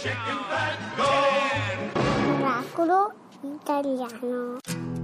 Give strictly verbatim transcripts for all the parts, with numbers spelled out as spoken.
Chicken fat, go! Miracolo italiano.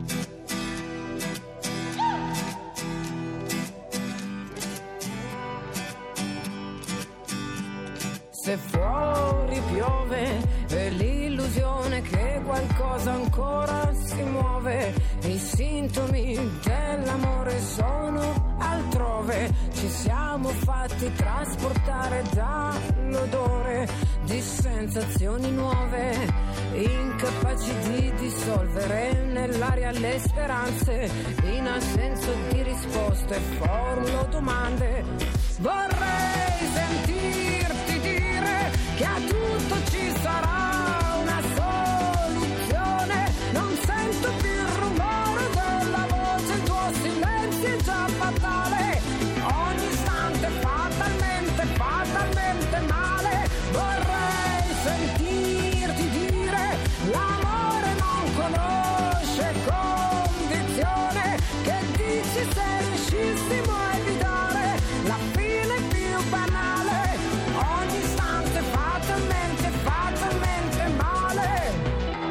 Se fuori piove è l'illusione che qualcosa ancora si muove, i sintomi dell'amore sono altrove, ci siamo fatti trasportare dall'odore di sensazioni nuove, incapaci di dissolvere nell'aria le speranze, in assenza di risposte formulo domande, vorrei sentirti dire che a tutto ci sarà una soluzione, non sento più il rumore della voce, il tuo silenzio è già fatale, ogni istante fatalmente, fatalmente male, vorrei sentirti dire l'amore non conosce condizione, che dici se riuscissimo a evitare la fine più banale, ogni istante fatalmente, fatalmente male.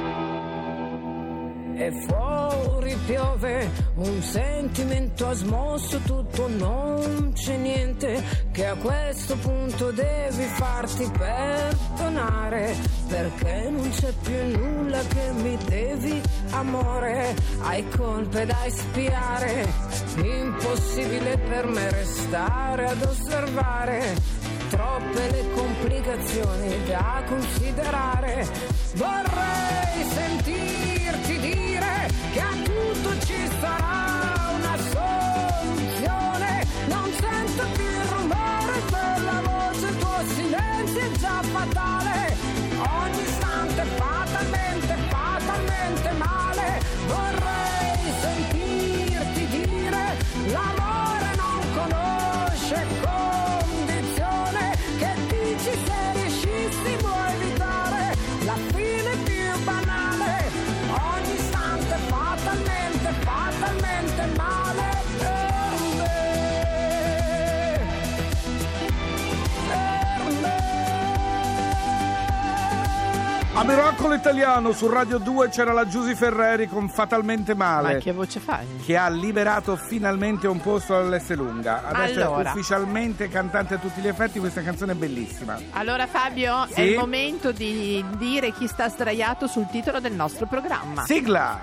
E fuori piove, un sentimento ha smosso tutto, non c'è niente che a questo punto devi farti perdonare, perché non c'è più nulla che mi devi, amore, hai colpe da espiare, impossibile per me restare ad osservare, troppe le complicazioni da considerare, vorrei sentirti dire che a tutto ci sarà una soluzione, non sento più il rumore della voce, il tuo silenzio è già fatale, ogni istante fatalmente, fatalmente male, vorrei sentirti dire l'amore non conosce condizione, che dici se riuscissimo a evitare la fine più banale, ogni istante fatalmente, fatalmente male per me, per me. A Miracolo Italiano su Radio due c'era la Giusy Ferreri con Fatalmente Male. Ma che voce fai? Che ha liberato finalmente un posto all'Esselunga. Adesso Allora. è ufficialmente cantante a tutti gli effetti, questa canzone è bellissima. Allora Fabio, Sì? è il momento di dire chi sta sdraiato sul titolo del nostro programma. Sigla!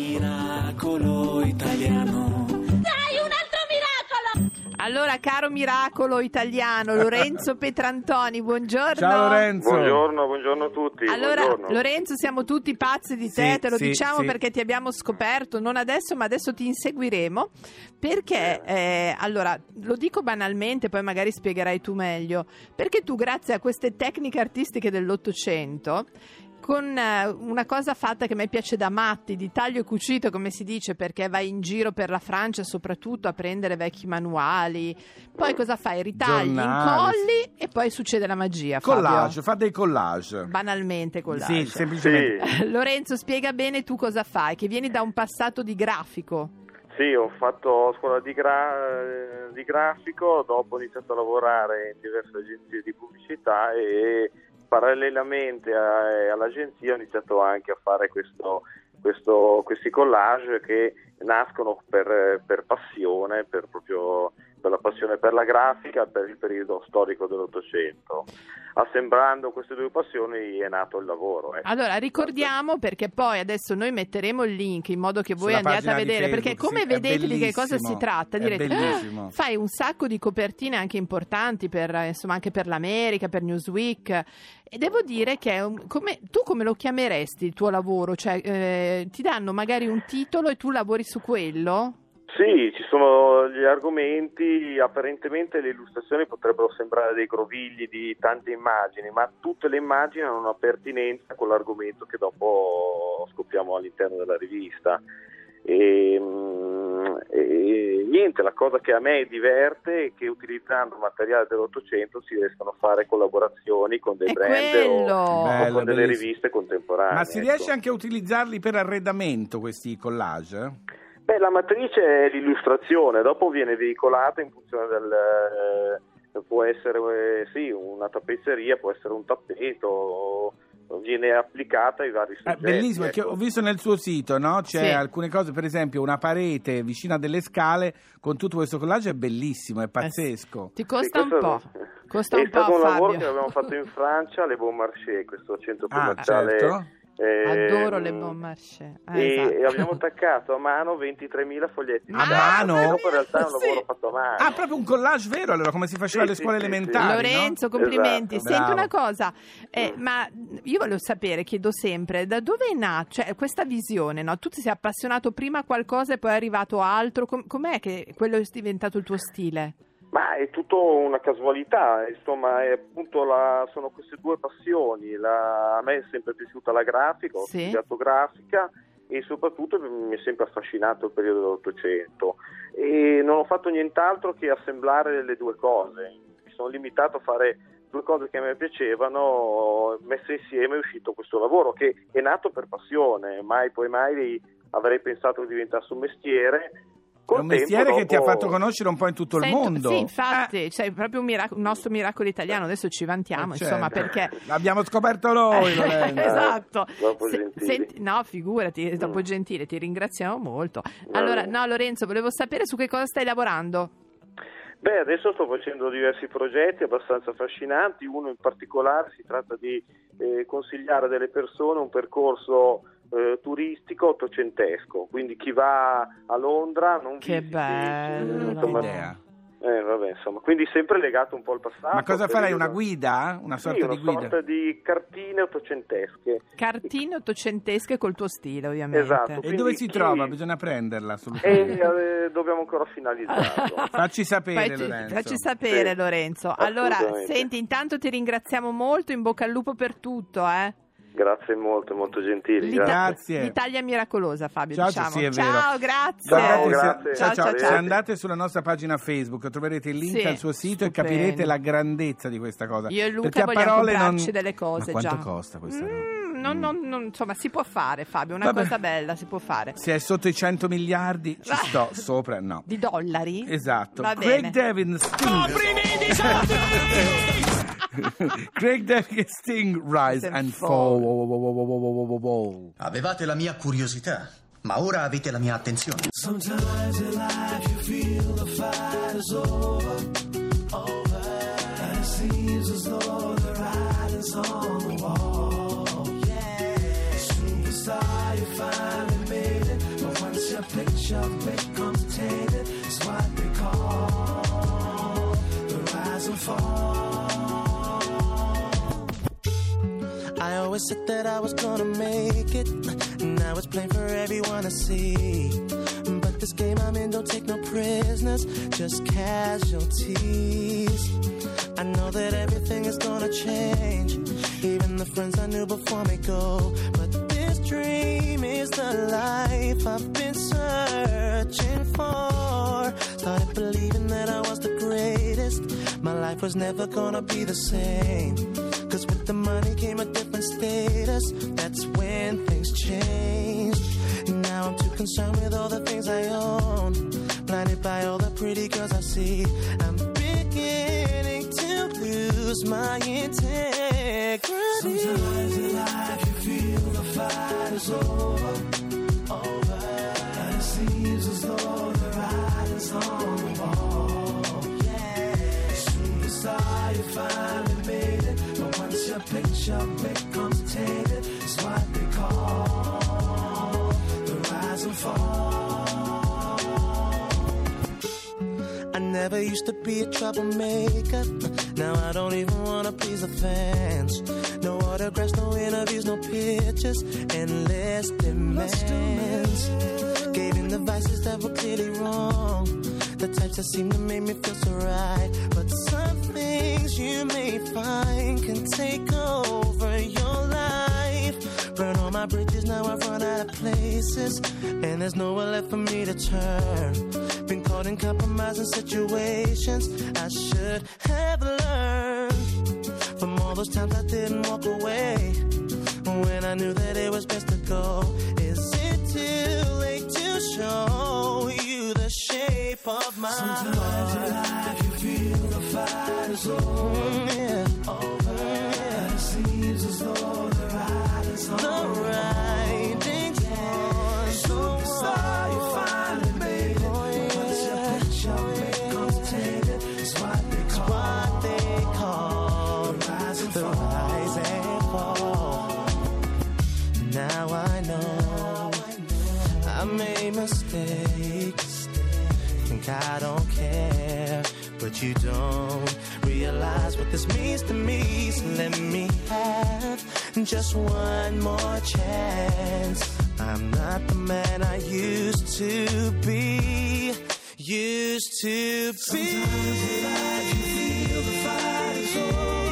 Miracolo italiano. Dai, un altro miracolo! Allora, caro miracolo italiano, Lorenzo Petrantoni, buongiorno. Ciao Lorenzo. Buongiorno, buongiorno a tutti. Allora, buongiorno. Lorenzo, siamo tutti pazzi di te, Sì, te lo sì, diciamo sì. perché ti abbiamo scoperto, non adesso, ma adesso ti inseguiremo, perché, eh, allora, lo dico banalmente, poi magari spiegherai tu meglio, perché tu, grazie a queste tecniche artistiche dell'Ottocento, con eh, una cosa fatta che a me piace da matti, di taglio e cucito, come si dice, perché vai in giro per la Francia soprattutto a prendere vecchi manuali, poi cosa fai? Ritagli, Giornali. incolli e poi succede la magia, Fabio. Collage, fa dei collage. Banalmente collage. Sì, semplicemente. Sì, Lorenzo, spiega bene tu cosa fai, che vieni da un passato di grafico. sì, ho fatto scuola di, gra- di grafico, dopo ho iniziato a lavorare in diverse agenzie di pubblicità e parallelamente a- all'agenzia ho iniziato anche a fare questo, questo, questi collage che nascono per, per passione, per proprio per la passione per la grafica, per il periodo storico dell'Ottocento. Assemblando queste due passioni è nato il lavoro. Ecco. Allora ricordiamo, perché poi adesso noi metteremo il link in modo che voi Sulla andiate a pagina di vedere, perché Facebook, come sì, è vedete di che cosa si bellissimo, tratta, è direte bellissimo. "Ah, fai un sacco di copertine anche importanti per, eh, insomma, anche per l'America, per Newsweek, e devo dire che è un- come, tu come lo chiameresti il tuo lavoro? Cioè eh, ti danno magari un titolo e tu lavori su quello? Sì, ci sono gli argomenti, apparentemente le illustrazioni potrebbero sembrare dei grovigli di tante immagini, ma tutte le immagini hanno una pertinenza con l'argomento che dopo scopriamo all'interno della rivista. E, mm, e niente, la cosa che a me diverte è che utilizzando materiale dell'Ottocento si riescono a fare collaborazioni con dei È brand quello! o, o Bello, con delle bellissimo. riviste contemporanee. Ma si ecco. riesce anche a utilizzarli per arredamento, questi collage? Beh, la matrice è l'illustrazione, dopo viene veicolata in funzione del, può essere eh, sì, una tappezzeria, può essere un tappeto, viene applicata ai vari soggetti. È bellissimo, ecco. perché ho visto nel suo sito, no? C'è Sì. alcune cose, per esempio una parete vicino a delle scale con tutto questo collage, è bellissimo, è pazzesco. Ti costa Sì, un questo po'. Costa è un po', stato un lavoro Fabio. che abbiamo fatto in Francia, Le Bon Marché, questo centro Ah, commerciale. certo. eh, Adoro le Bon Marché. Eh, e, esatto. e abbiamo attaccato a mano ventitremila foglietti. A di mano? carta, dopo in realtà è un Sì. lavoro fatto a mano. Ah, proprio un collage vero, allora, come si faceva Sì, alle sì, scuole sì, sì. elementari, Lorenzo, no? complimenti. Esatto. Senti Bravo. una cosa, eh, ma io volevo sapere, chiedo sempre, da dove è nata cioè, questa visione? No? Tu ti sei appassionato prima a qualcosa e poi è arrivato a altro. Com- com'è che quello è diventato il tuo stile? Ma è tutto una casualità, insomma, è appunto la, sono queste due passioni. La, a me è sempre piaciuta la grafica, ho Sì. studiato grafica e soprattutto mi è sempre affascinato il periodo dell'Ottocento e non ho fatto nient'altro che assemblare le due cose. Mi sono limitato a fare due cose che a me piacevano, messe insieme è uscito questo lavoro che è nato per passione, mai poi mai avrei pensato che diventasse un mestiere. È Col un mestiere tempo, che ti ha dopo- fatto conoscere un po' in tutto il Sento- mondo. Sì, infatti, Eh, cioè, proprio un, mirac- un nostro miracolo italiano, adesso ci vantiamo, eh, insomma, certo. perché... L'abbiamo scoperto noi, Lorenzo. Esatto. Dopo Se- Gentili. senti- no, figurati, dopo Mm. Gentile, ti ringraziamo molto. Va Allora, bene. no, Lorenzo, volevo sapere su che cosa stai lavorando. Beh, adesso sto facendo diversi progetti abbastanza affascinanti, uno in particolare si tratta di eh, consigliare a delle persone un percorso eh, turistico ottocentesco, quindi chi va a Londra non Che visiti, bello. insomma, Idea. eh, vabbè, insomma, quindi sempre legato un po' al passato. Ma cosa farai? periodo- Una guida? Una Sì, sorta una di guida? sorta di cartine ottocentesche. Cartine ottocentesche col tuo stile, ovviamente. Esatto. E Quindi dove si chi- trova? Bisogna prenderla E assolutamente. eh, dobbiamo ancora finalizzarlo. Facci sapere, Facci, Lorenzo. facci sapere, Sì, Lorenzo. Allora, assolutamente. senti, intanto ti ringraziamo molto, in bocca al lupo per tutto, eh. Grazie molto, molto gentili. L'Ita- Grazie. Grazie. L'Italia miracolosa, Fabio, Ciao, diciamo. sì, è vero. Ciao, grazie. Guardate, Ciao, se- grazie. ciao, ciao. Ciao, Se ciao. andate sulla nostra pagina Facebook troverete il link Sì, al suo sito stupendo. e capirete la grandezza di questa cosa. Io e Luca Perché a vogliamo parole comprarci non... delle cose Ma quanto già. costa questa roba? Mm, non- non- non- insomma, si può fare, Fabio, una Vabbè. cosa bella si può fare. Se è sotto i cento miliardi ci sto, sopra no. Di dollari? Esatto. Va Craig bene. Devin Sting. Craig Devin Sting Rise And and Fall. Fall. Avevate la mia curiosità, ma ora avete la mia attenzione. Sometimes in life you feel the fight is over, over, and it seems as though the writing's on the wall. Yeah, superstar, you finally made it, but once your picture becomes tainted, it's what they call the rise and fall. I always said that I was gonna make it. Now it's plain for everyone to see. But this game I'm in don't take no prisoners, just casualties. I know that everything is gonna change. Even the friends I knew before me go. But this dream is the life I've been searching for. Started believing that I was the greatest. My life was never gonna be the same. Cause with the money came a different status. That's when things changed. Now I'm too concerned with all the things I own. Blinded by all the pretty girls I see. I'm beginning to lose my integrity. Sometimes in life you feel the fight is over, over, and it seems as though the writing's on the wall. Yeah, superstar, you finally made it, but once your picture becomes tainted, it's what they call the rise and fall. I never used to be a troublemaker. Now I don't even wanna please the fans. No autographs, no interviews, no pictures, endless demands. Gave in the vices that were clearly wrong, the types that seem to make me feel so right. But some things you may find can take over your life. Burn all my bridges, now I've run out of places, and there's nowhere left for me to turn. Been caught in compromising situations I should have learned from all those times I didn't walk away when I knew that it was best to go. Is it too late to show you the shape of my Sometimes heart? In life you feel the fight is over. Yeah. Over. And it seems as though the ride is on. The riding's on. Superstar, you finally made it. Oh, yeah. Once your picture becomes tainted, it's what they call, what they call the rise and the fall. Rise and fall. Now I know I made mistakes. Think I don't care, but you don't realize what this means to me. So let me have just one more chance. I'm not the man I used to be. Used to be. Sometimes in life you feel the fight is over.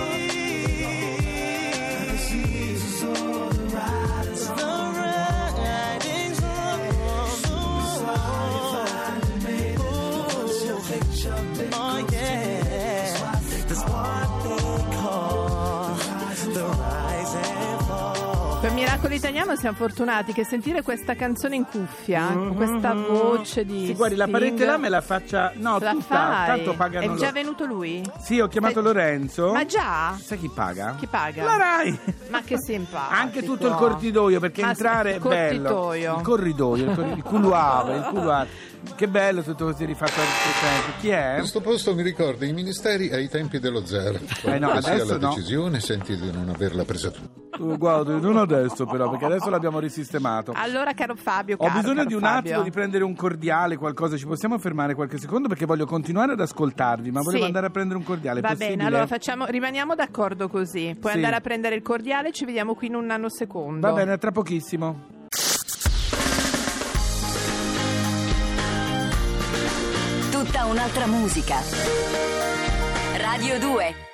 And the season's over, the ride is on. The riding's on. Superstar, you finally made it. Once your picture becomes tainted, that's what they call the rise and fall. Per Miracolo Italiano siamo fortunati che sentire questa canzone in cuffia, con questa voce di Sì, guardi, la Sting, parete là me la faccia. No, la tutta, fai. tanto pagano. È già lo- venuto lui? Sì, ho chiamato Stai- Lorenzo. Ma già? Sai chi paga? Chi paga? La Rai. Ma che simpatico. Anche tutto il corridoio, perché Ma entrare il è bello. cortitoio. Il corridoio, il, cor- il couloir, il couloir. Che bello tutto così rifatto al presente. Chi è? Questo posto mi ricorda i ministeri ai tempi dello zero. Eh no, Qualunque sia adesso la no. decisione, senti di non averla presa tu. Uh, guarda, non adesso però, perché adesso l'abbiamo risistemato. Allora, caro Fabio, Ho caro, bisogno caro di un Fabio. attimo di prendere un cordiale, qualcosa. Ci possiamo fermare qualche secondo perché voglio continuare ad ascoltarvi, ma volevo Sì. andare a prendere un cordiale. Va possibile? bene, allora facciamo, rimaniamo d'accordo così. Puoi Sì. andare a prendere il cordiale, ci vediamo qui in un nanosecondo. Va bene, tra pochissimo. Tutta un'altra musica. Radio due.